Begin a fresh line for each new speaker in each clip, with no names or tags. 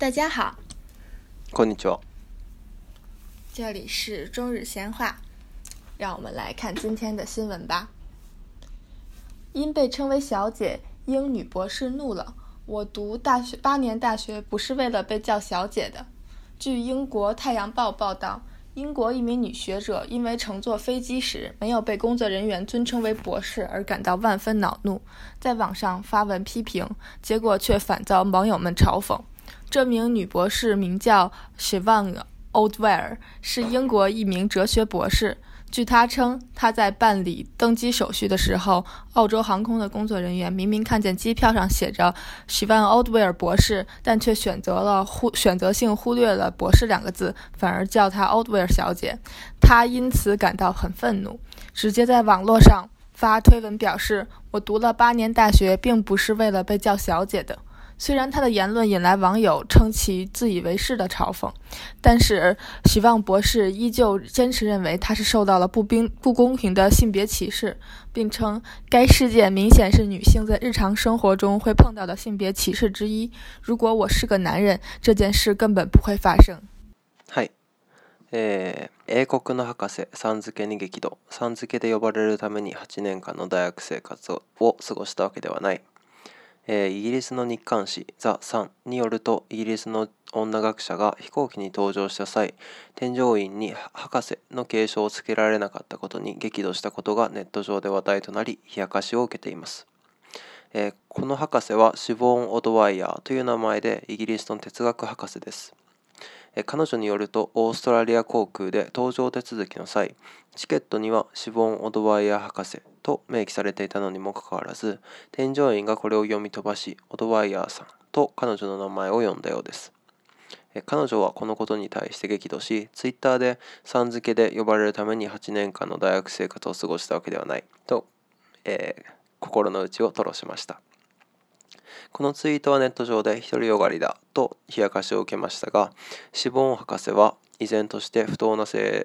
大家好，
こんにちは。
这里是中日闲话，让我们来看今天的新闻吧。因被称为小姐，英女博士怒了。我读8年大学不是为了被叫小姐的。据英国《太阳报》报道，英国一名女学者因为乘坐飞机时没有被工作人员尊称为博士而感到万分恼怒，在网上发文批评，结果却反遭网友们嘲讽。这名女博士名叫 Siobhan Oldwyer， 是英国一名哲学博士。据她称，她在办理登机手续的时候，澳洲航空的工作人员明明看见机票上写着 Siobhan Oldwyer 博士，但却选择性忽略了博士2个字，反而叫她 Oldwyer 小姐。她因此感到很愤怒，直接在网络上发推文表示，我读了8年大学并不是为了被叫小姐的。虽然他的言论引来网友称其自以为是的嘲讽，但是希望博士依旧坚持认为他是受到了不公平的性别歧视，并称该事件明显是女性在日常生活中会碰到的性别歧视之一。如果我是个男人，这件事根本不会发生。
はい。英国の博士、さん付けに激怒。さん付けで呼ばれるために8年間の大学生活を過ごしたわけではない。イギリスの日刊誌ザ・サンによると、イギリスの女学者が飛行機に搭乗した際、添乗員に博士の継承をつけられなかったことに激怒したことがネット上で話題となり、冷やかしを受けています。この博士はシボーン・オドワイヤーという名前でイギリスの哲学博士です。彼女によると、オーストラリア航空で搭乗手続きの際、チケットにはシボーン・オドワイヤー博士と明記されていたのにもかかわらず、添乗員がこれを読み飛ばし、オドワイヤーさんと彼女の名前を呼んだようです。彼女はこのことに対して激怒し、ツイッターでさん付けで呼ばれるために8年間の大学生活を過ごしたわけではないと、心の内を吐露しました。このツイートはネット上で独りよがりだと冷やかしを受けましたが、シボーン博士は依然として不当な性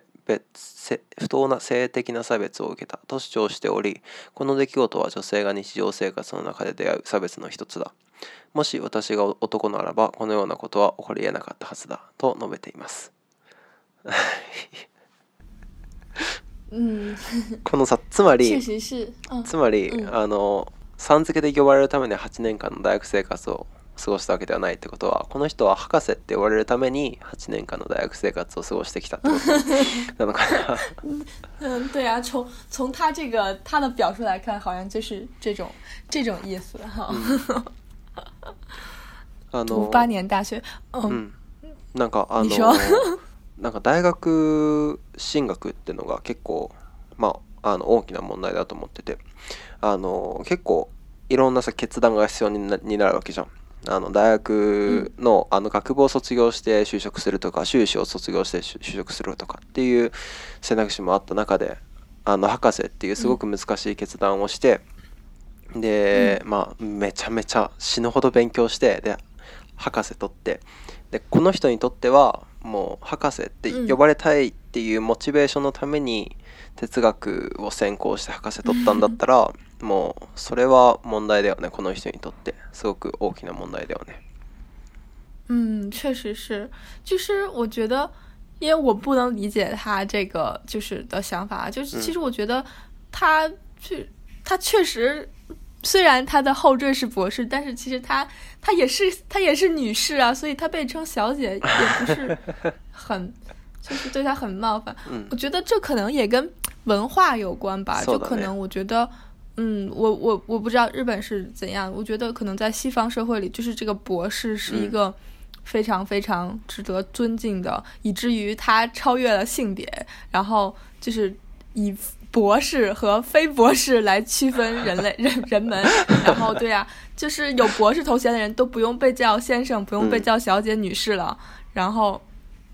的な差別を受けたと主張しており、この出来事は女性が日常生活の中で出会う差別の一つだ。もし私が男ならばこのようなことは起こり得なかったはずだと述べています。このさ、つまり、さん付けで呼ばれるために8年間の大学生活を過ごしたわけではないってことは、この人は博士って呼ばれるために8年間の大学生活を過ごしてきたってことなのか
な。对啊，从他的表述来看，好像就是这种意思哈。读8年大学，
なんかなんか大学進学っていうのが結構大きな問題だと思ってて、結構いろんな決断が必要になるわけじゃん。大学の学部を卒業して就職するとか、修士を卒業して就職するとかっていう選択肢もあった中で、博士っていうすごく難しい決断をして、でめちゃめちゃ死ぬほど勉強して、で博士取って、でこの人にとってはもう博士って呼ばれたいっていうモチベーションのために哲学を専攻して博士取ったんだったらもうそれは問題だよね。この人にとってすごく大きな問題だよね。
确实是，就是我觉得，因为我不能理解他这个就是的想法，就是其实我觉得他确实，虽然他的后缀是博士，但是其实他也是女士啊，所以他被称小姐也不是很就是对他很冒犯。我觉得这可能也跟文化有关吧，就可能我觉得我不知道日本是怎样，我觉得可能在西方社会里，就是这个博士是一个非常非常值得尊敬的，以至于他超越了性别，然后就是以博士和非博士来区分人们。然后对啊，就是有博士头衔的人都不用被叫先生，不用被叫小姐、女士了。然后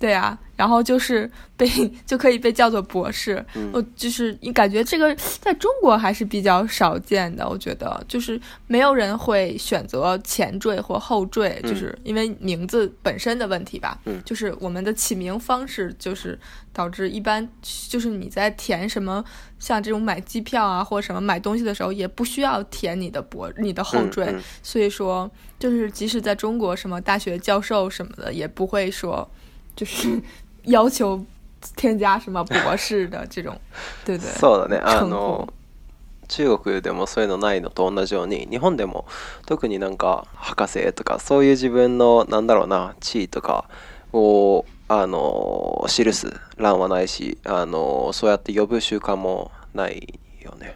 对啊，然后就是就可以被叫做博士。我就是感觉这个在中国还是比较少见的，我觉得就是没有人会选择前缀或后缀，就是因为名字本身的问题吧。就是我们的起名方式就是导致一般就是你在填什么像这种买机票啊或者什么买东西的时候也不需要填你的后缀，所以说就是即使在中国什么大学教授什么的也不会说就是要求添加什么博士的这种对对
そうだね
称呼。
中国でもそういうのないのと同じように日本でも特になんか博士とかそういう自分のなんだろうな地位とかを記す欄はないしそうやって呼ぶ習慣もないよね。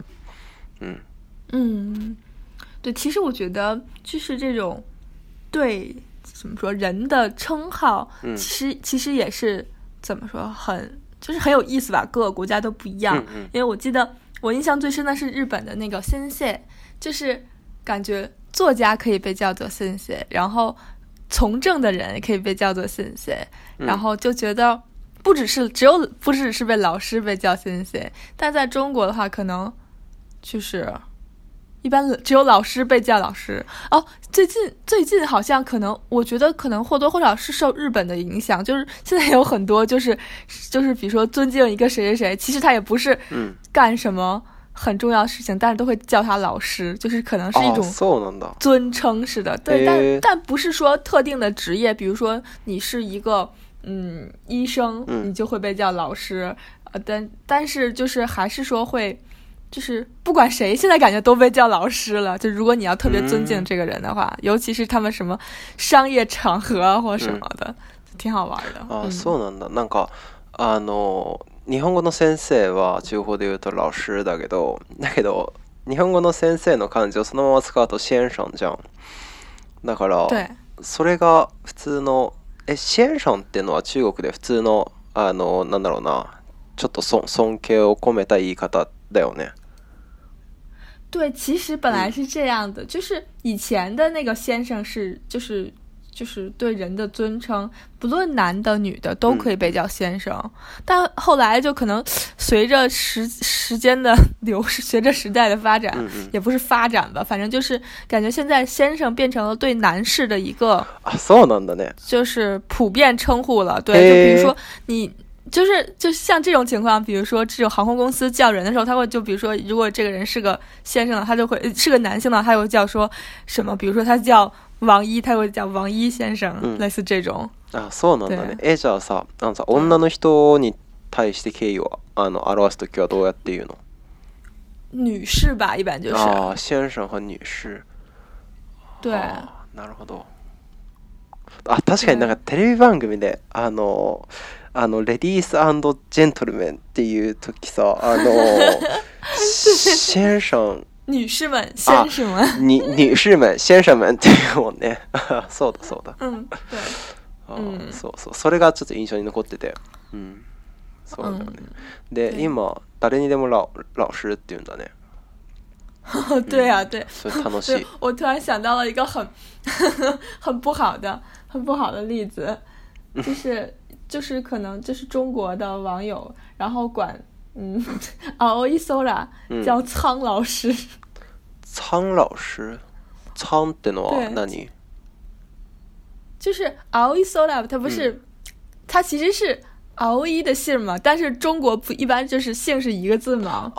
对，其实我觉得就是这种对怎么说人的称号，其实也是怎么说就是很有意思吧，各个国家都不一样。因为我记得我印象最深的是日本的那个先生，就是感觉作家可以被叫做先生，然后从政的人也可以被叫做先生，然后就觉得不只是被老师被叫先生，但在中国的话可能就是一般只有老师被叫老师。最近好像可能我觉得可能或多或少是受日本的影响，就是现在有很多就是比如说尊敬一个谁谁谁，其实他也不是干什么很重要的事情，但是都会叫他老师，就是可能是一种尊称似的。对，但不是说特定的职业，比如说你是一个医生，你就会被叫老师。但是就是还是说会。就是不管谁现在感觉都被叫老师了，就如果你要特别尊敬这个人的话，尤其是他们什么商业场合或什么的，挺好玩的。
そうなんだ。なんか日本語の先生は中国で言うと老師だけど日本語の先生の漢字をそのまま使うと先生じゃん。だからそれが普通の先生っていうのは中国で普通のなんだろうなちょっと尊敬を込めた言い方だよね。
对，其实本来是这样的，就是以前的那个先生是就是对人的尊称，不论男的女的都可以被叫先生。但后来就可能随着时间的流逝，随着时代的发展，也不是发展吧，反正就是感觉现在先生变成了对男士的一个
そうなんだね，
就是普遍称呼了。对，就比如说你。就像这种情况，比如说这种航空公司叫人的时候，他会就比如说，如果这个人是个先生的，他就会是个男性的，他会叫说什么？比如说他叫王一，他会叫王一先生，类似这种。
そうなんだね。じゃあさ、女の人に対して敬意を表すときはどうやって言うの？
女士吧，一般就是。
先生和女士。
对。
なるほど。確かになんかテレビ番組でレディース&ジェントルメンっていう時さ先生
女士们先生们
女士们先生们っていうもんねそうだそうだ
对
そうそれがちょっと印象に残っててそうだよねで今誰にでも老師って言うんだね
对啊对
楽しい
我突然想到了一个很不好的例子就是可能就是中国的网友，然后管Aoi Sora 叫苍老师。
苍老师，苍ってのは何？
就是 Aoi Sora， 它不是，它其实是Aoi的姓嘛，但是中国不一般就是姓是一个字嘛。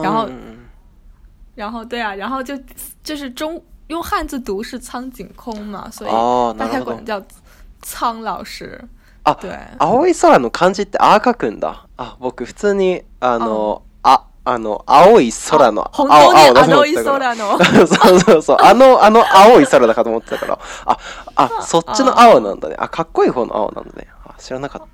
然后对啊，然后就是用汉字读是苍井空嘛，所以大家管叫苍老師。
对。青い空の漢字ってあ書くんだ。僕普通に青い空の
本当に青い空の
そう青い空だかと思ってたからそっちの青なんだね。かっこいい方の青なんだね。知らなかった。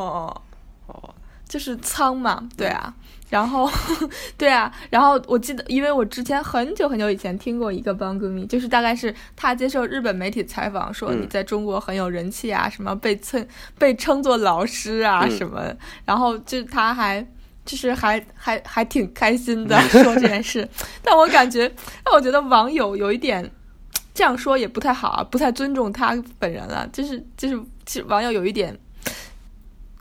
就是苍嘛，对啊。然后对啊，然后我记得因为我之前很久以前听过一个番組，就是大概是他接受日本媒体采访说你在中国很有人气啊，什么被称作老师啊什么，然后就他还挺开心的说这件事但我感觉让我觉得网友有一点这样说也不太好不太尊重他本人了，就是其实网友有一点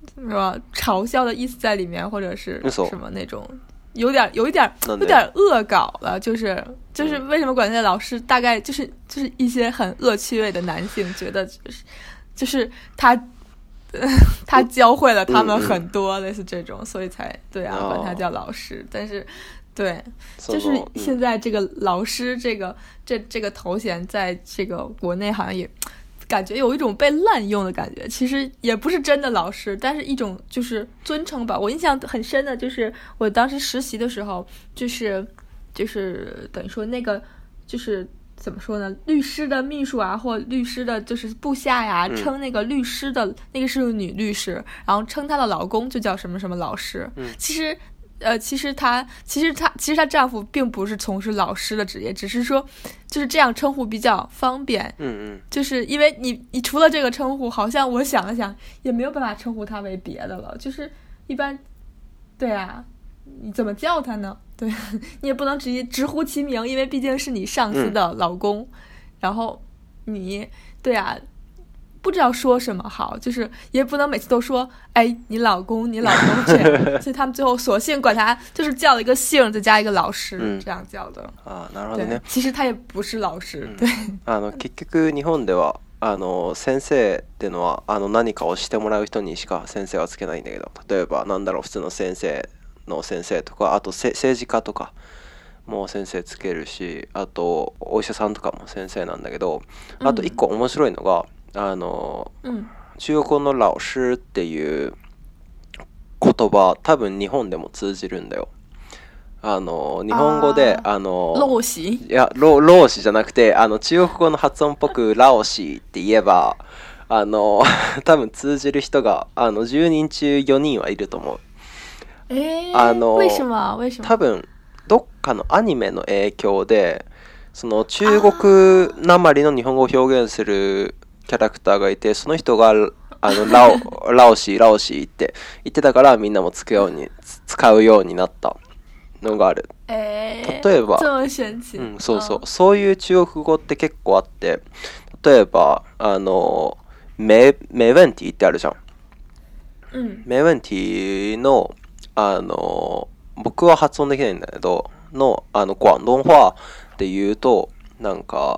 什么嘲笑的意思在里面，或者是
嘘
什么那种有点恶搞了，就是为什么管那老师大概就是一些很恶趣味的男性觉得就是他教会了他们很多，类似这种，所以才对啊管他叫老师。但是对，就是现在这个老师这个头衔在这个国内好像也感觉有一种被滥用的感觉，其实也不是真的老师，但是一种就是尊称吧。我印象很深的就是我当时实习的时候，就是等于说那个就是怎么说呢，律师的秘书啊，或律师的就是部下呀，称那个律师的那个是个女律师，然后称她的老公就叫什么什么老师。其实她丈夫并不是从事老师的职业，只是说就是这样称呼比较方便。就是因为你除了这个称呼，好像我想了想也没有办法称呼他为别的了，就是一般，对啊，你怎么叫他呢？对，你也不能直接直呼其名，因为毕竟是你上司的老公，然后你对啊，不知道说什么好，就是也不能每次都说哎你老公这样，所以他们最后索性管他就是叫了一个姓再加一个老师，这样叫的。
なるほどね。
其实他也不是老師。对。
結局日本では先生ってのは何かをしてもらう人にしか先生はつけないんだけど、例えばなんだろう、普通の先生の先生とか、あと政治家とかも先生つけるし、あとお医者さんとかも先生なんだけど、あと一個面白いのが中国語の老師っていう言葉、多分日本でも通じるんだよ。日本語で
老師？
いや老師じゃなくて中国語の発音っぽくラオシって言えば多分通じる人が10人中4人はいると思う。
为什么
多分どっかのアニメの影響でその中国なまりの日本語を表現するキャラクターがいて、その人がラオシって言ってたからみんなも使うようになったのがある。例えばそういう中国語って結構あって、例えばメウェンティってあるじゃん。メウェンティの僕は発音できないんだけど广東話って言うとなんか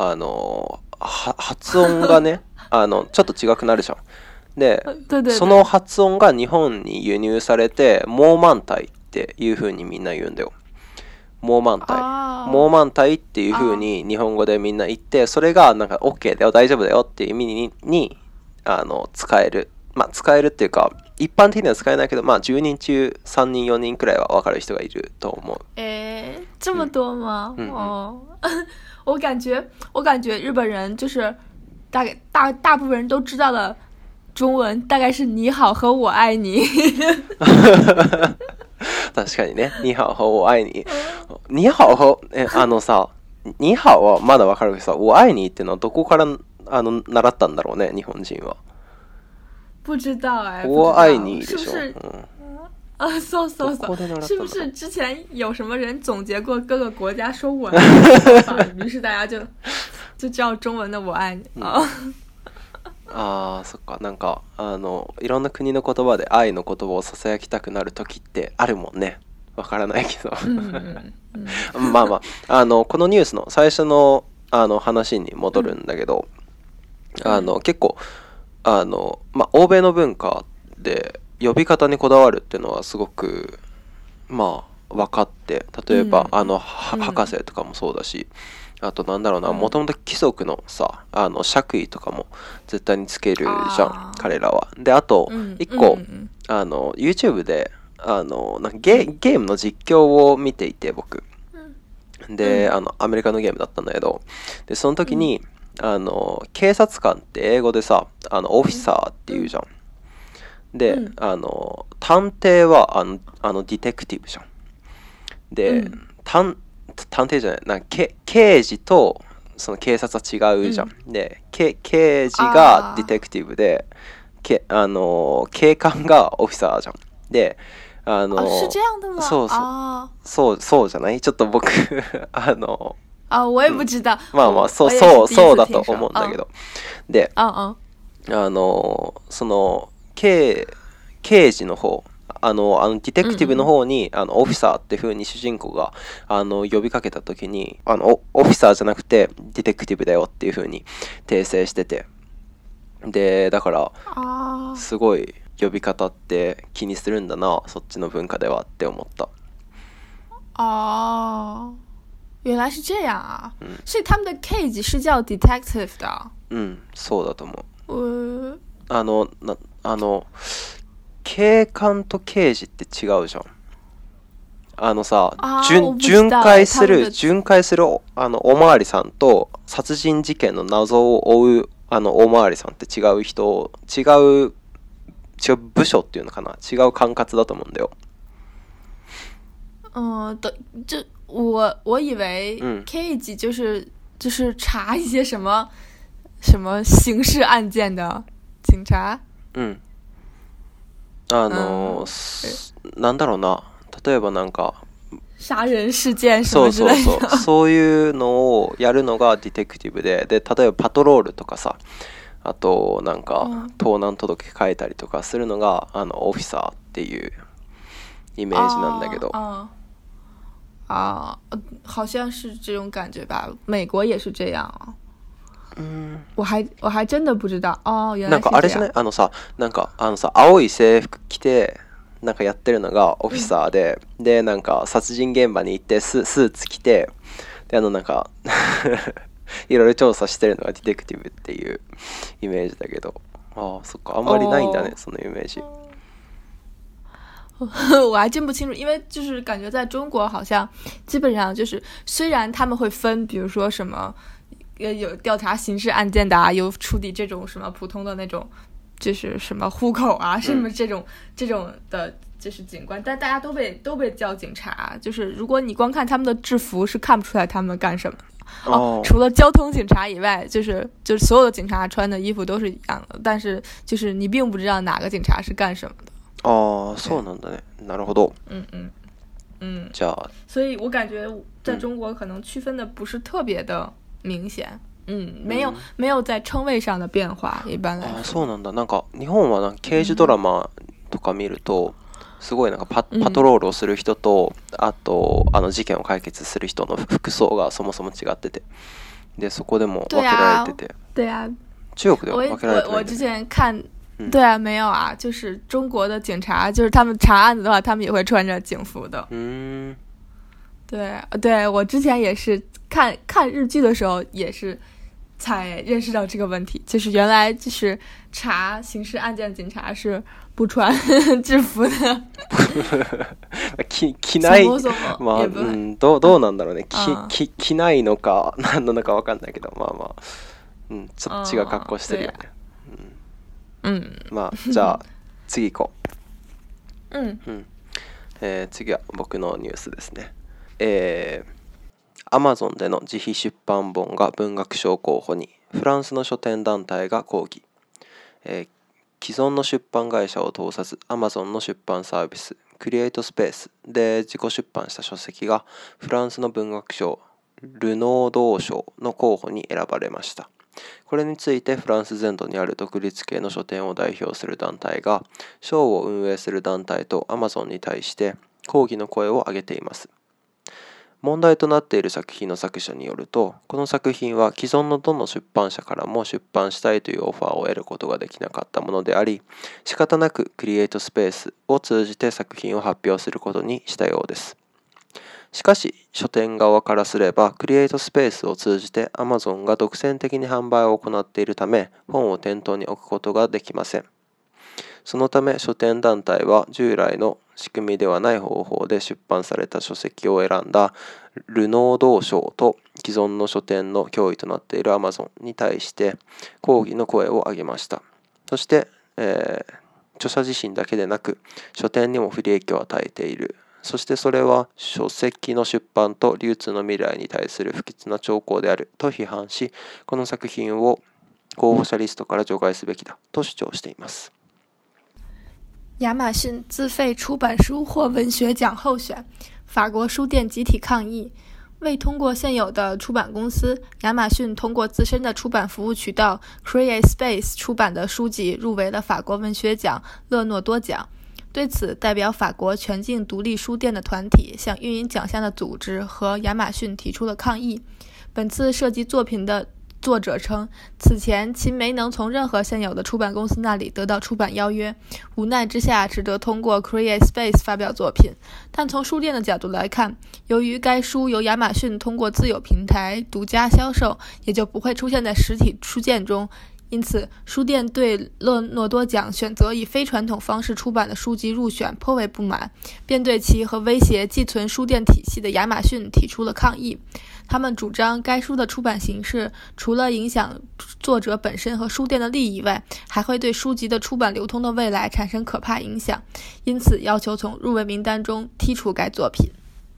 発音がねちょっと違くなるじゃん。でその発音が日本に輸入されてモーマンタイっていう風にみんな言うんだよ。モーマンタイっていう風に日本語でみんな言って、それがなんか OK だよ大丈夫だよっていう意味に使える。使えるっていうか一般的には使えないけど、10人中3人4人くらいは分かる人がいると思う。
这么多吗？我感觉日本人就是大部分人都知道的中文大概是你好和我愛你。
確かにね、ニハオ和我愛你。ニハオさ、ニハオはまだ分かるけどさ、我愛你ってのはどこから習ったんだろうね、日本人は。
不知道
我愛你でしょ。
そう是不是之前有什么人总結過各個國家說我愛你的方法，於是大家就叫中文的我愛你。
そっか、なんかいろんな国の言葉で愛の言葉をささやきたくなる時ってあるもんね。わからないけどこのニュースの最初の話に戻るんだけど、結構欧米の文化で呼び方にこだわるっていうのはすごく分かって、例えば博士とかもそうだし、あとなんだろうな、もともと貴族のさ爵位とかも絶対につけるじゃん彼らは。であと一個YouTube でなんかゲームの実況を見ていて僕でアメリカのゲームだったんだけど、でその時に警察官って英語でさオフィサーって言うじゃん。で探偵はディテクティブじゃん。で探偵じゃない刑事とその警察は違うじゃん。で刑事がディテクティブで警官がオフィサーじゃん。で
是这样的吗？
そうじゃない？ちょっと僕
我也不知道。
そうだと思うんだけど。でその刑事の方、ディテクティブの方に、オフィサーっていう風に主人公が呼びかけた時にオフィサーじゃなくてディテクティブだよっていう風に訂正してて、でだからすごい呼び方って気にするんだな、そっちの文化ではって思った。
原来是这样啊，所以他们的 cage 是叫 detective 的。
そうだと思う。警官と刑事って違うじゃん。巡回するおまわりさんと殺人事件の謎を追うおまわりさんって違う部署っていうのかな、違う管轄だと思うんだよ。
我以为 cage 就是查一些什么刑事案件的警察。
なんだろうな、例えばなんか
殺人事件什么之类的。
そういうのをやるのがディテクティブで、例えばパトロールとかさ、あとなんか盗難届書いたりとかするのがオフィサーっていうイメージなんだけど。
好像是这种感觉吧，美国也是这样啊。我还真的不知道。原来是这样。なんかあれじゃない、
なんか青い制服着てなんかやってるのがオフィサーで、でなんか殺人現場に行ってスーツ着て、でなんかいろいろ調査してるのがディテクティブっていうイメージだけど、そっか、あんまりないんだね、そのイメージ。
我还真不清楚，因为就是感觉在中国好像基本上就是，虽然他们会分，比如说什么有调查刑事案件的啊，有处理这种什么普通的那种，就是什么户口啊，什么这种的，就是警官，但大家都被叫警察。就是如果你光看他们的制服，是看不出来他们干什么。除了交通警察以外，就是所有的警察穿的衣服都是一样的，但是就是你并不知道哪个警察是干什么的。
そうなんだね。なるほど。じゃあ，
所以我感觉在中国可能区分的不是特别的明显。没有在称谓上的变化。一般来说。
そうなんだ。なんか日本はなんか刑事ドラマとか見ると、すごいなんかパトロールをする人と、あと事件を解決する人の服装がそもそも違ってて、でそこでも分けられてて。
对啊。
中国では分けられてない。
我之前看。对啊，没有啊，就是中国的警察，就是他们查案子的话，他们也会穿着警服的。对，我之前也是看日剧的时候，也是才认识到这个问题，就是原来就是查刑事案件的警察是不穿制服的。
着ない、まあどうなんだろうね。着ないのか何なのか分かんないけど、まあそっちが格好してるよね。まあじゃあ次行こう。次は僕のニュースですね。Amazon での自費出版本が文学賞候補に、フランスの書店団体が抗議。既存の出版会社を通さず Amazon の出版サービスクリエイトスペースで自己出版した書籍がフランスの文学賞ルノードー賞の候補に選ばれました。これについてフランス全土にある独立系の書店を代表する団体が賞を運営する団体と Amazon に対して抗議の声を上げています。問題となっている作品の作者によると、この作品は既存のどの出版社からも出版したいというオファーを得ることができなかったものであり、仕方なくクリエイトスペースを通じて作品を発表することにしたようです。しかし、書店側からすれば、クリエイトスペースを通じて Amazon が独占的に販売を行っているため、本を店頭に置くことができません。そのため、書店団体は従来の仕組みではない方法で出版された書籍を選んだルノードー賞と既存の書店の脅威となっている Amazon に対して抗議の声を上げました。そして、著者自身だけでなく、書店にも不利益を与えている。そしてそれは書籍の出版と流通の未来に対する不吉な兆候であると批判し、この作品を候補者リストから除外すべきだと主張しています。
亚马逊自费出版书获文学奖候选，法国书店集体抗议。 未通过现有的出版公司，亚马逊通过自身的出版服务渠道 CreateSpace 出版的书籍入围了法国文学奖勒诺多奖。对此，代表法国全境独立书店的团体向运营奖项的组织和亚马逊提出了抗议。本次涉及作品的作者称，此前其没能从任何现有的出版公司那里得到出版邀约，无奈之下只得通过 CreateSpace 发表作品。但从书店的角度来看，由于该书由亚马逊通过自有平台独家销售，也就不会出现在实体书店中，因此书店对勒诺多奖选择以非传统方式出版的书籍入选颇为不满，便对其和威胁寄存书店体系的亚马逊提出了抗议。他们主张该书的出版形式除了影响作者本身和书店的利益外，还会对书籍的出版流通的未来产生可怕影响，因此要求从入围名单中剔除该作品。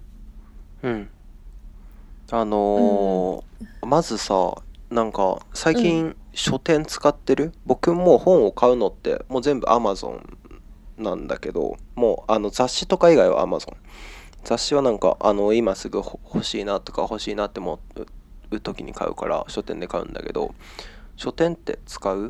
まずさ、なんか最近書店使ってる？僕もう本を買うのってもう全部 Amazon なんだけど、もう雑誌とか以外は Amazon。雑誌はなんか今すぐ欲しいなとか欲しいなって思う時に買うから書店で買うんだけど、書店って使う？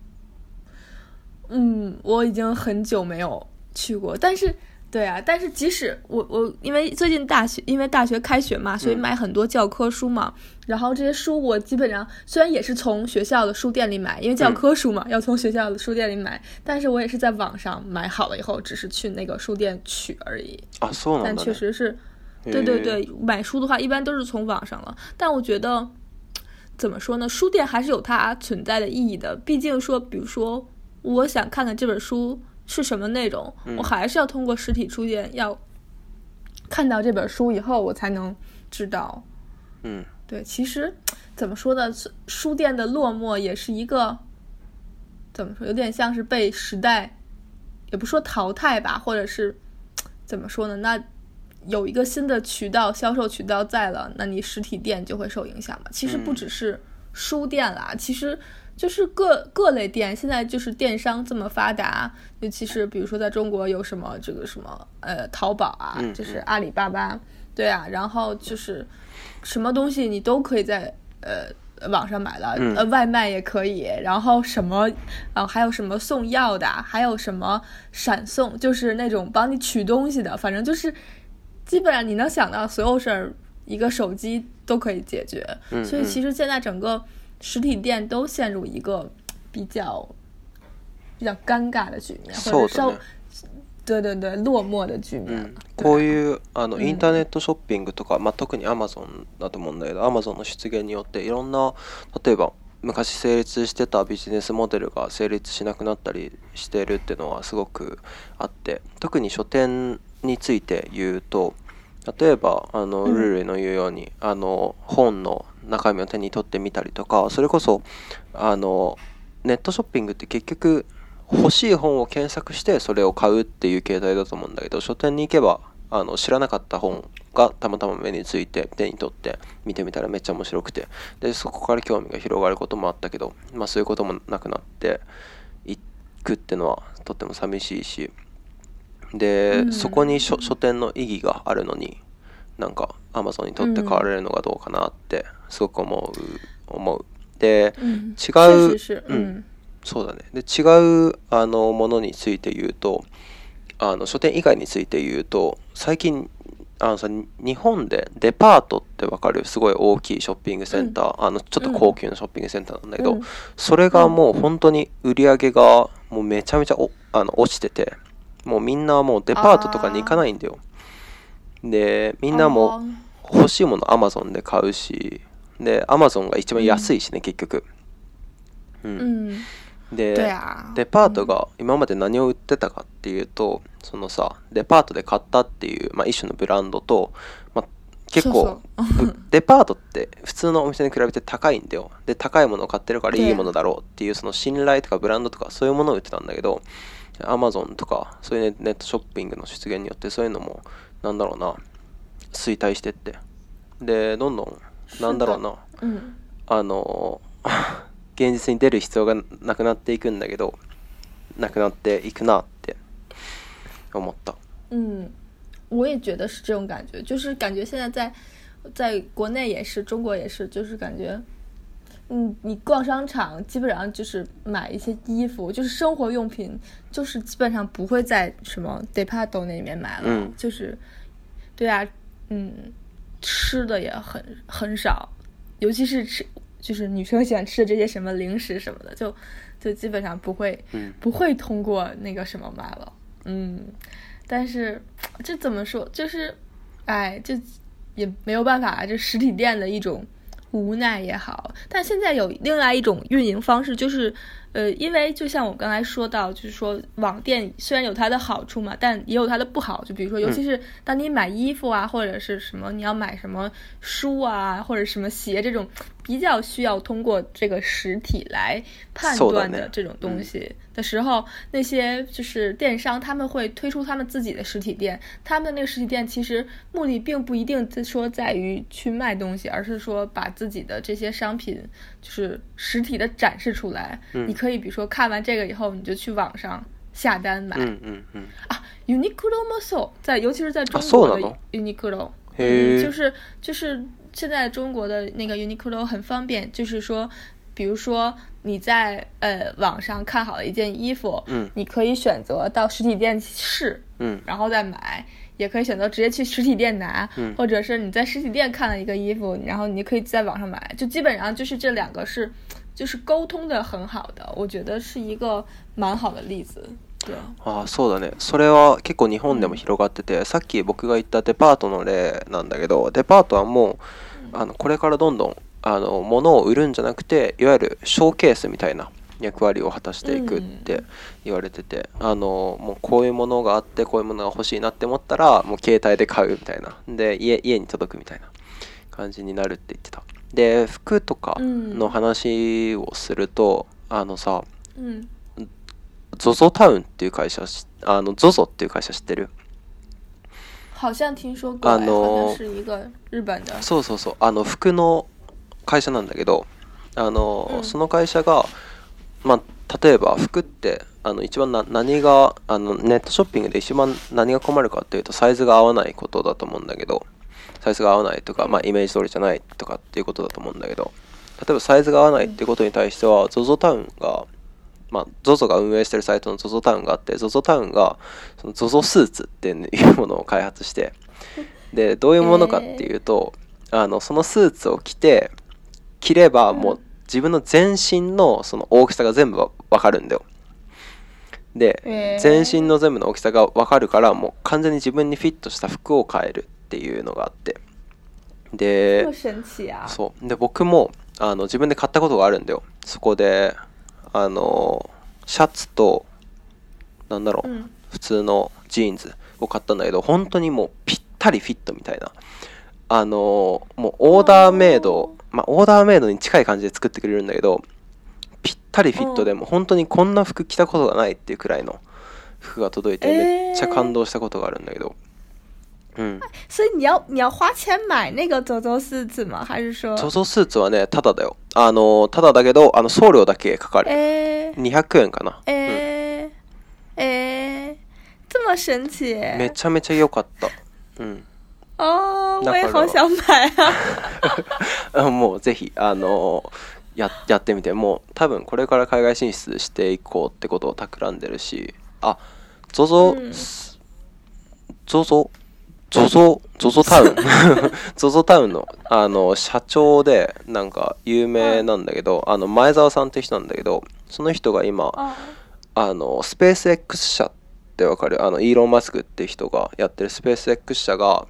我已经很久没有去过，但是即使我因为最近因为大学开学嘛，所以买很多教科书嘛，然后这些书我基本上虽然也是从学校的书店里买，因为教科书嘛，要从学校的书店里买，但是我也是在网上买好了以后，只是去那个书店取而已。
そうなんだね。
但确实是，对，买书的话一般都是从网上了。但我觉得怎么说呢，书店还是有它存在的意义的，毕竟说，比如说我想看看这本书是什么内容，我还是要通过实体书店要看到这本书以后我才能知道。对，其实怎么说呢，书店的落寞也是一个怎么说，有点像是被时代也不说淘汰吧，或者是怎么说呢，那有一个新的销售渠道在了，那你实体店就会受影响嘛。其实不只是书店啦，其实就是各类店，现在就是电商这么发达，尤其是比如说在中国有什么这个什么淘宝啊，就是阿里巴巴，对啊，然后就是什么东西你都可以在网上买了，外卖也可以，然后什么还有什么送药的，还有什么闪送，就是那种帮你取东西的，反正就是基本上你能想到所有事儿，一个手机都可以解决。所以其实现在整个实体店都陷入一个比较尴尬的局面，或者对落寞的局面。
こういうインターネットショッピングとか、特に Amazon だと思うんだけど、 Amazon の出現によっていろんな、例えば昔成立してたビジネスモデルが成立しなくなったりしているっていうのはすごくあって、特に書店について言うと、例えばルールの言うように本の中身を手に取ってみたりとか、それこそネットショッピングって結局欲しい本を検索してそれを買うっていう形態だと思うんだけど、書店に行けば知らなかった本がたまたま目について手に取って見てみたらめっちゃ面白くて、でそこから興味が広がることもあったけど、そういうこともなくなっていくっていうのはとっても寂しいし、でそこに書店の意義があるのになんか Amazon にとって買われるのがどうかなってすごく思う。で、違う、そうだね。で違うものについて言うと、書店以外について言うと、最近日本でデパートってわかる？すごい大きいショッピングセンター、ちょっと高級なショッピングセンターなんだけど、それがもう本当に売り上げがもうめちゃめちゃ落ちてて、もうみんなもうデパートとかに行かないんだよ。でみんなも欲しいもの Amazon で買うし、で Amazon が一番安いしね、結局。で、デパートが今まで何を売ってたかっていうと、そのさ、デパートで買ったっていう、一種のブランドと、結構デパートって普通のお店に比べて高いんだよ。で高いものを買ってるからいいものだろうっていうその信頼とかブランドとかそういうものを売ってたんだけど、 Amazon とかそういうネットショッピングの出現によってそういうのもなんだろうな、衰退してって、でどんどんなんだろうな、現実に出る必要がなくなっていくんだけど、なくなっていくなって思った。
我也觉得是这种感觉，就是感觉现在在在国内也是，中国也是，就是感觉，你逛商场基本上就是买一些衣服，就是生活用品，就是基本上不会在什么 Department 那里面买了，就是，对啊，吃的也很少，尤其是就是女生喜欢吃的这些什么零食什么的，就基本上不会通过那个什么买了，但是这怎么说，就是这也没有办法，这实体店的一种无奈也好。但现在有另外一种运营方式，就是因为就像我刚才说到，就是说网店虽然有它的好处嘛，但也有它的不好，就比如说尤其是当你买衣服啊，或者是什么你要买什么书啊，或者什么鞋这种比较需要通过这个实体来判断的这种东西的时候，那些就是电商他们会推出他们自己的实体店，他们的那个实体店其实目的并不一定说在于去卖东西，而是说把自己的这些商品就是实体的展示出来，你可以比如说看完这个以后你就去网上下单买。Uniqlo もそう，尤其是在中国的 Uniqlo，就是现在中国的那个 Uniqlo 很方便，就是说比如说你在网上看好了一件衣服，你可以选择到实体店试，然后再买，也可以选择直接去实体店拿，或者是你在实体店看了一个衣服，然后你可以在网上买，就基本上就是这两个是就是沟通的很好的，我觉得是一个蛮好的例子。
そうだね。それは結構日本でも広がってて、さっき僕が言ったデパートの例なんだけど、デパートはもうこれからどんどん物を売るんじゃなくて、いわゆるショーケースみたいな役割を果たしていくって言われてて、もうこういうものがあってこういうものが欲しいなって思ったらもう携帯で買うみたいな、で家に届くみたいな感じになるって言ってた。で服とかの話をすると、さ、ZOZO タウンっていう会社、ZOZO っていう会社知ってる？
好像听说过，好像是一个日本的。
そうそうそう、服の会社なんだけど、その会社が、例えば服って一番何がネットショッピングで一番何が困るかっていうと、サイズが合わないことだと思うんだけど、サイズが合わないとか、イメージ通りじゃないとかっていうことだと思うんだけど、例えばサイズが合わないっていうことに対しては ZOZO タウンが、ZOZO が運営してるサイトの ZOZO タウンがあって、 ZOZO タウンがその ZOZO スーツっていうものを開発して、でどういうものかっていうと、そのスーツを着ればもう自分の全身のその大きさが全部わかるんだよ。で、全身の全部の大きさがわかるから、もう完全に自分にフィットした服を買えるっていうのがあって、で、そうで僕も自分で買ったことがあるんだよ。そこでシャツとなんだろう、普通のジーンズを買ったんだけど、本当にもうぴったりフィットみたいな、もうオーダーメイド、オーダーメイドに近い感じで作ってくれるんだけど、ぴったりフィットでも本当にこんな服着たことがないっていうくらいの服が届いて、めっちゃ感動したことがあるんだけど。
所以你要花钱买那个 ZOZO スーツ吗？还是说
ZOZO スーツはね、ただだよ。ただだけど送料だけかかる。200円かな。
这么神奇。
めちゃめちゃ良かった。
我也好想買啊。
もうぜひやってみて。もう多分これから海外進出していこうってことを企んでるし、ZOZOタウンZOZO タウンの社長でなんか有名なんだけど、前澤さんって人なんだけど、その人が今スペース X 社ってわかる？イーロン・マスクって人がやってるスペース X 社が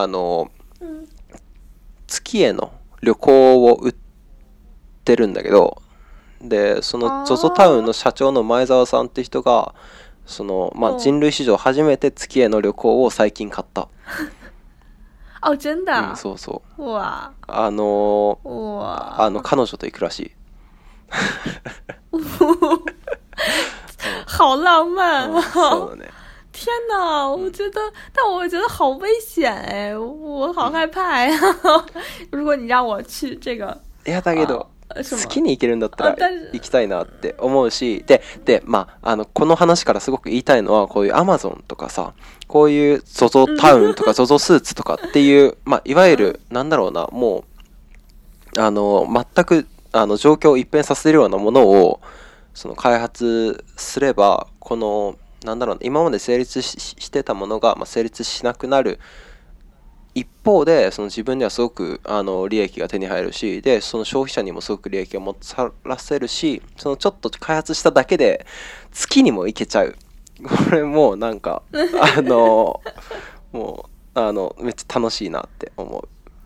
月への旅行を売ってるんだけど、でその ZOZO タウンの社長の前澤さんって人が人類史上初めて月への旅行を最近買った。
真的？
そうそう。
哇。
彼女と行くらしい。
好浪漫啊！
そうだね。
天哪，但我觉得好危险哎，我好害怕呀！如果你让我去这个，
いやだけど月に行けるんだったら
但是
行きたいなって思うし、でこの話からすごく言いたいのは、こういうアマゾンとかさ、こういう ZOZO タウンとか ZOZO スーツとかっていう、いわゆるなんだろうな、もう全く状況を一変させるようなものをその開発すれば、このなんだろうな、今まで成立してたものが、成立しなくなる一方で、その自分にはすごく利益が手に入るし、でその消費者にもすごく利益をもたらせるし、そのちょっと開発しただけで月にも行けちゃう。これもうなんかもうめっちゃ楽しいなって思う。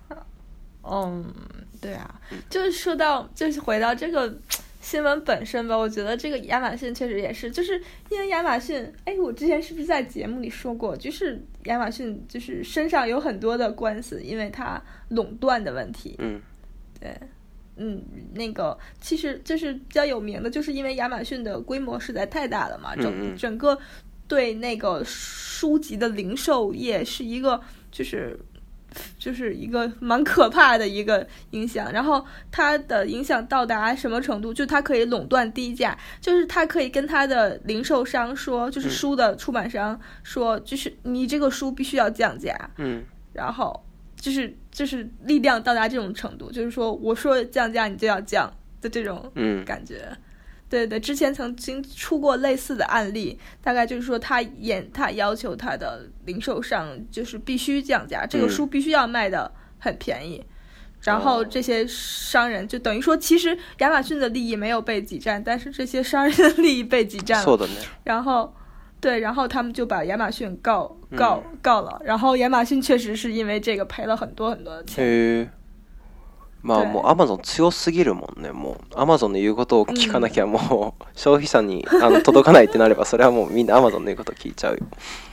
对啊，就是说到，就是回到这个新闻本身吧，我觉得这个亚马逊确实也是，就是因为亚马逊，我之前是不是在节目里说过，就是亚马逊就是身上有很多的官司，因为它垄断的问题。对，那个其实就是比较有名的，就是因为亚马逊的规模实在太大了嘛，整个对那个书籍的零售业是一个就是一个蛮可怕的一个影响，然后它的影响到达什么程度，就它可以垄断低价，就是它可以跟它的零售商说，就是书的出版商说，就是你这个书必须要降价，然后就是力量到达这种程度，就是说我说降价你就要降的这种感觉。对，之前曾经出过类似的案例，大概就是说他要求他的零售商就是必须降价，这个书必须要卖的很便宜，然后这些商人就等于说，其实亚马逊的利益没有被挤占，但是这些商人的利益被挤占了。然后他们就把亚马逊告了，然后亚马逊确实是因为这个赔了很多很多的钱。
もうアマゾン強すぎるもんね。もうアマゾンの言うことを聞かなきゃ、もう消費者に届かないってなれば、それはもうみんなアマゾンの言うこと聞いちゃうよ。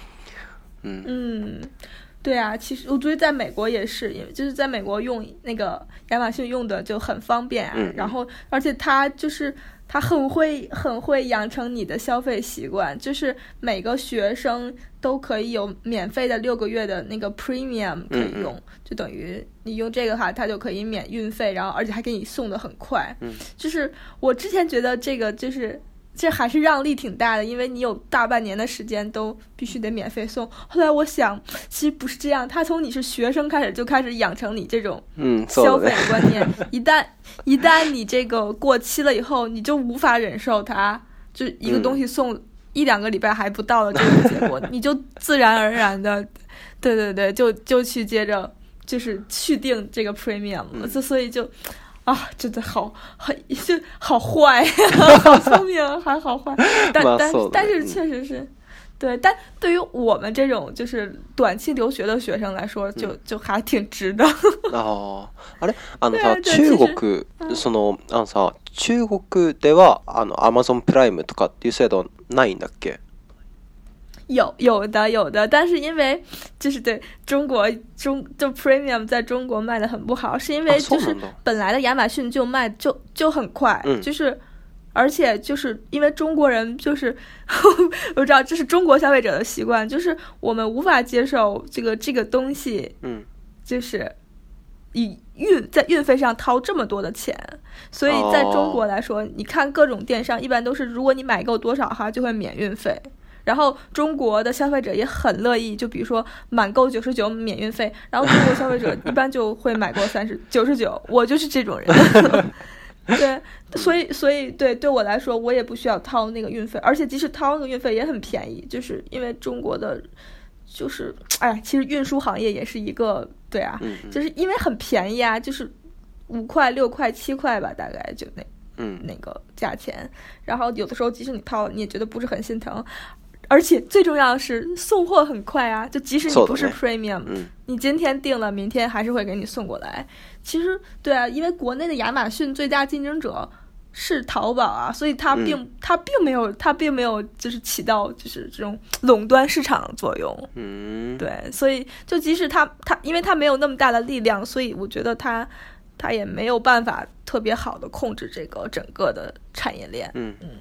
对啊，其实我觉得在美国也是，因为就是在美国用那个亚马逊用的就很方便啊，然后而且它很会养成你的消费习惯，就是每个学生都可以有免费的6个月的那个 premium 可以用，就等于你用这个话，它就可以免运费，然后而且还给你送的很快。就是我之前觉得这还是让利挺大的，因为你有大半年的时间都必须得免费送。后来我想，其实不是这样，他从你是学生开始就开始养成你这种消费的观念。一旦你这个过期了以后，你就无法忍受它，就一个东西送1-2个礼拜还不到的这种结果，你就自然而然的，对，就去接着就是续订这个 premium 了，所以就。真的好坏好聪明还好坏，但是确实是对，但对于我们这种就是短期留学的学生来说，就还挺值的。
あれさ、中国さ、中国ではAmazon プライムとかっていう制度ないんだっけ？
有的，但是因为就是对中国就 premium 在中国卖的很不好，是因为就是本来的亚马逊就卖就很快，就是而且就是因为中国人就是我知道这是中国消费者的习惯，就是我们无法接受这个东西，就是在运费上掏这么多的钱，所以在中国来说，你看各种电商一般都是如果你买够多少哈就会免运费。然后中国的消费者也很乐意，就比如说满购99免运费，然后中国消费者一般就会买够99，我就是这种人。对，所以对我来说，我也不需要掏那个运费，而且即使掏那个运费也很便宜，就是因为中国的，就是其实运输行业也是一个对啊，就是因为很便宜啊，就是5块、6块、7块吧，大概就那个价钱，然后有的时候即使你掏，你也觉得不是很心疼。而且最重要的是送货很快啊，就即使你不是 premium，你今天订了，明天还是会给你送过来。其实对啊，因为国内的亚马逊最大竞争者是淘宝啊，所以它并没有就是起到就是这种垄断市场的作用。对，所以就即使它因为它没有那么大的力量，所以我觉得它也没有办法特别好的控制这个整个的产业链。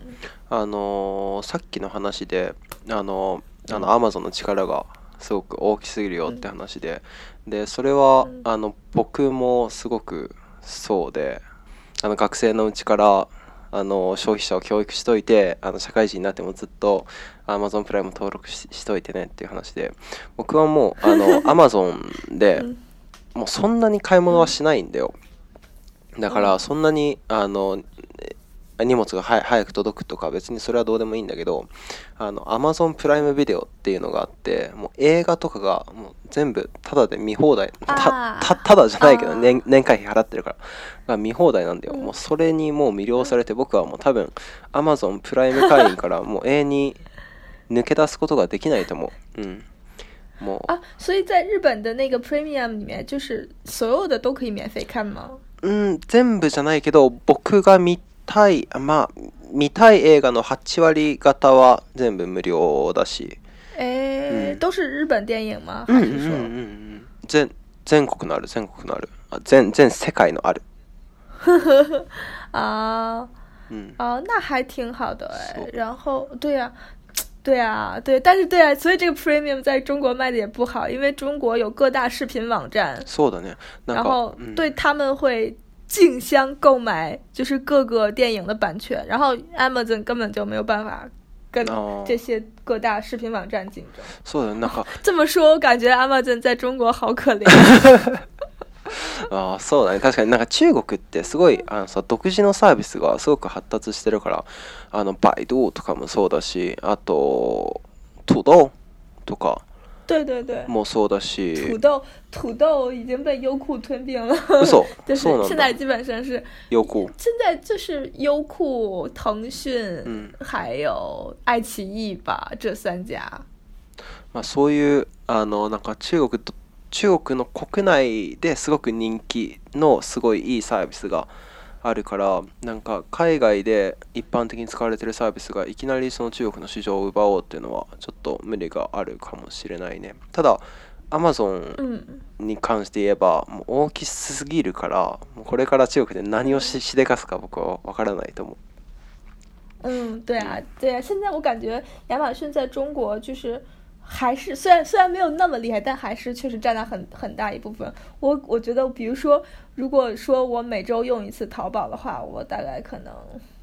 さっきの話でAmazon の力がすごく大きすぎるよって話で、それは僕もすごくそうで、 学生のうちから消費者を教育しといて社会人になってもずっと Amazon プライム登録 しといてねっていう話で、僕はもうAmazon でもうそんなに買い物はしないんだよ。だからそんなに荷物が早く届くとか別にそれはどうでもいいんだけど、Amazon プライムビデオっていうのがあって、もう映画とかがもう全部タダで見放題、タダじゃないけど年会費払ってるから見放題なんだよ。もうそれにもう魅了されて、僕はもう多分 Amazon プライム会員からもう永遠に抜け出すことができないと思う。もう
所以在日本的那个 Premium 里面，就是所有的都可以免费看吗？
全部じゃないけど、僕が見たい映画の8割方は全部無料だし。
都是日本電影吗？还是说
全国のある全世界のある
那还挺好的然后对啊，但是所以这个 Premium 在中国卖的也不好，因为中国有各大视频网站，
そうだね。
然后对他们会竞相购买就是各个电影的版权，然后 Amazon 根本就没有办法跟这些各大视频网站竞争。
そうだね。なんか
这么说，我感觉 Amazon 在中国好可怜。
そうだね。確かになんか中国ってすごい独自のサービスがすごく発達してるから、バイドゥとかもそうだし、あと土豆とかもそうだし、
土豆已经被优酷吞并了。
嘘
就是现在基本上是
优酷，
现在就是优酷、腾讯、还有爱奇艺吧，这3家。
そういうなんか中国の国内ですごく人気のすごいいいサービスがあるから、なんか海外で一般的に使われているサービスがいきなりその中国の市場を奪おうっていうのはちょっと無理があるかもしれないね。ただ Amazon に関して言えばもう大きすぎるから、これから中国で何をしでかすか僕は分からないと思う。
对啊，现在我感觉亚马逊在中国就是还是虽然没有那么厉害，但还是确实占了很大一部分。我觉得，比如说，如果说我每周用一次淘宝的话，我大概可能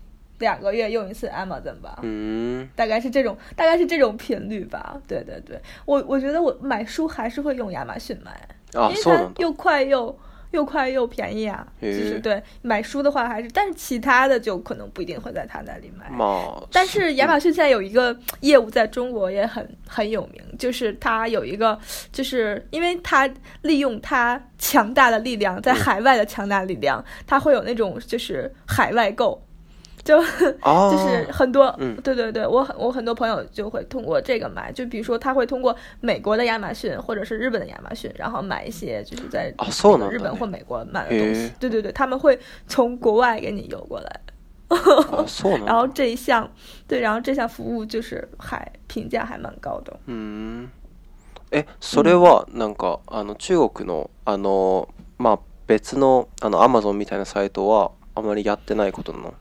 2个月用一次 Amazon 吧，大概是这种频率吧。对，我觉得我买书还是会用亚马逊买，因为它又快又便宜啊。就是对买书的话还是，但是其他的就可能不一定会在他那里买。但是亚马逊现在有一个业务在中国也很有名，就是它有一个，就是因为它利用它强大的力量，在海外的强大力量，它会有那种就是海外购。就是很多，对，我很多朋友就会通过这个买，就比如说他会通过美国的亚马逊或者是日本的亚马逊，然后买一些就是在日本或美国买的东西。对，他们会从国外给你邮过来。然后这项服务就是评价还蛮高的。
それはなんか中国の別のAmazon みたいなサイトはあまりやってないことなの？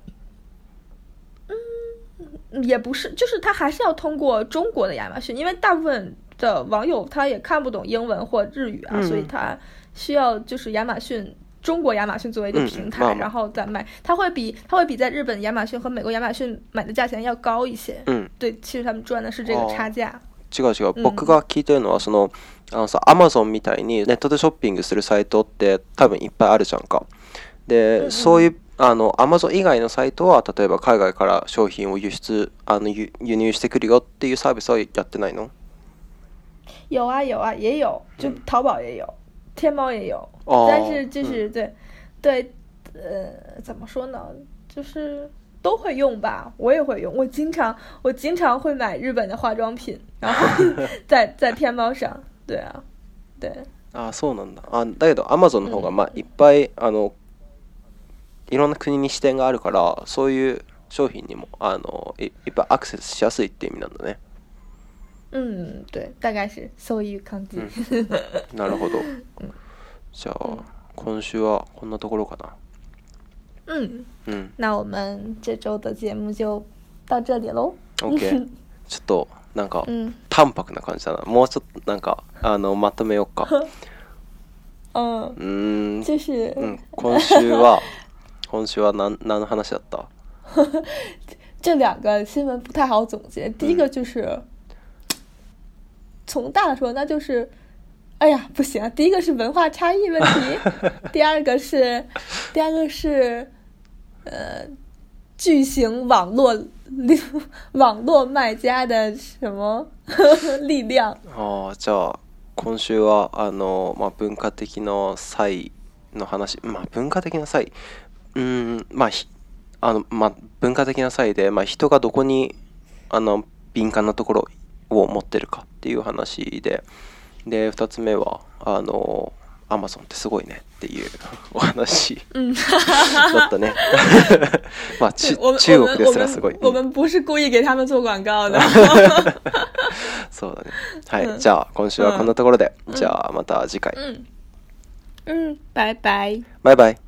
也不是，就是他还是要通过中国的亚马逊，因为大部分的网友他也看不懂英文或日语啊，所以他需要就是中国亚马逊作为一个平台，然后再卖。他会比在日本亚马逊和美国亚马逊买的价钱要高一些。对，其实他们赚的是这个差价。
違う。僕が聞いてるのはAmazon みたいにネットでショッピングするサイトって多分いっぱいあるじゃんか。で、そういうAmazon 以外のサイトは例えば海外から商品を輸入してくるよっていうサービスはやってないの？
有啊，也有，就淘宝也有，天猫也有，但是就是对，怎么说呢？就是都会用吧，我也会用，我经常会買日本的化妝品，然後在天貓上，对啊，对。
そうなんだ。だけど Amazon の方がいっぱいいろんな国に支店があるから、そういう商品にもいっぱいアクセスしやすいって意味なんだね。
对，大概是そういう感じ。
なるほど。じゃあ今週はこんなところかな。
那我们这周的节目就到这里喽。
OK。ちょっとなんか淡白な感じだな。もうちょっとなんかまとめようか。
就是
今週は今週は何の話だった？
这两个新闻不太好总结。第一个就是，从大了说，那就是，哎呀，不行啊！第一个是文化差异问题，第二个是，巨型网络卖家的什么力量。
じゃあ今週は文化的な差異の話、文化的な差異、文化的な差異で、人がどこに敏感なところを持ってるかっていう話で、2つ目はアマゾンってすごいねっていうお話だったね。中国ですらすごい。
我们不是故意给他们做广告的。
そうだね。はい、じゃあ今週はこんなところで、じゃあまた次回。
バイバイ。
バイバイ。